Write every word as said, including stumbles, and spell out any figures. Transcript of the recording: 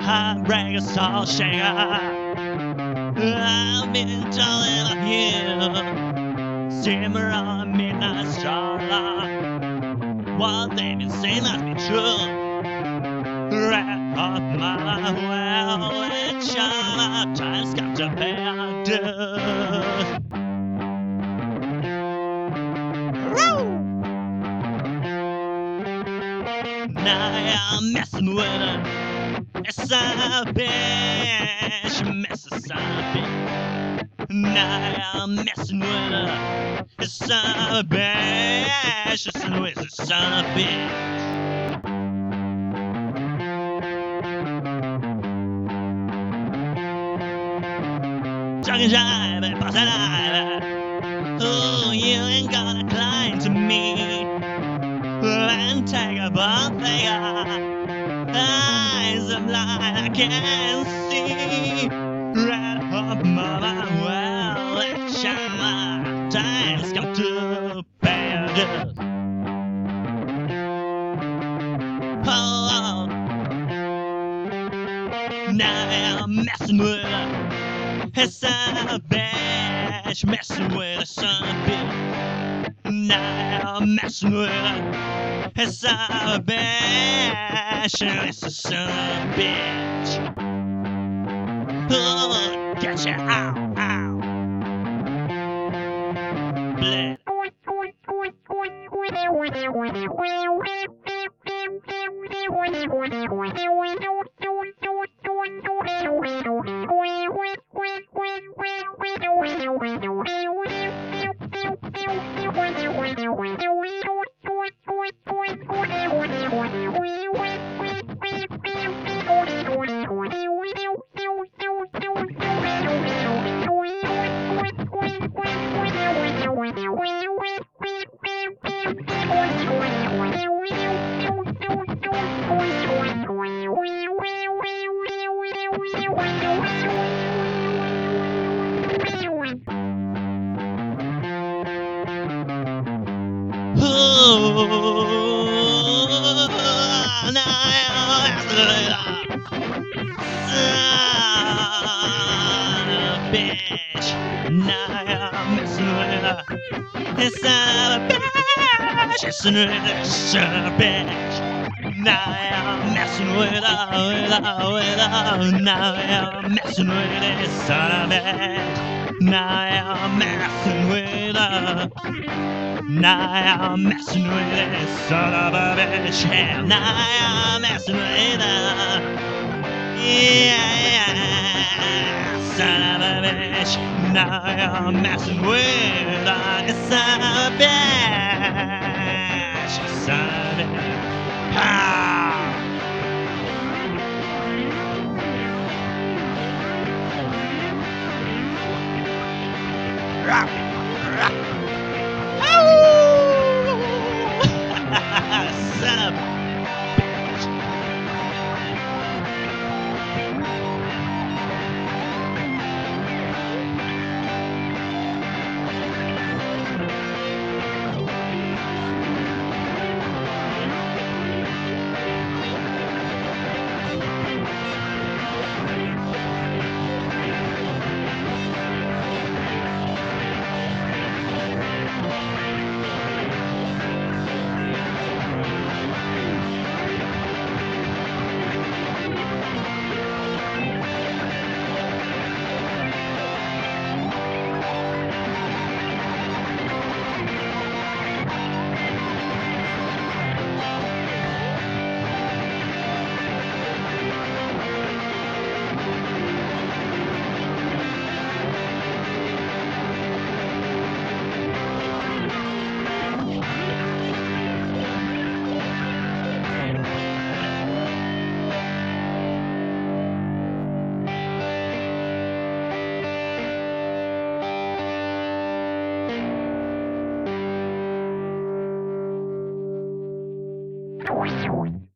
heartbreaker, soul shaker. I've been told of you, simmer on midnight star. What they've been saying must be true. Wrap up my well and China, time's come to pay our dues. Now I'm messing with her. It's a bitch, Mississippi. Now I'm messing with her. It's a bitch, it's a Mississippi. Talking jive, bustin' jive. Oh, you ain't gonna climb to me and take a bump figure. Eyes of light I can't see. Red hot mama, well, let's shine my time's come to pay a dues. Oh, now I'm messing with her. It's a bitch, messing with a son of a bitch. Now I'm messing with her. It's a bitch, it's a son of a bitch. Oh, gotcha, ow, ow. Blood. Oh, now son of a bitch. Now I'm messing with her. It's son of a bitch. It's son of a bitch. Now I'm messing with her, with her, with her. Now I'm messing with this son of a bitch. Now I'm messing with her. Now I'm messing with this son of a bitch. Yeah, now I'm messing with her. Yeah, yeah, son of a bitch. Now I'm messing with her. It's son of a bitch. Son of a bitch. Ah! Rock, rock. Son of a bitch.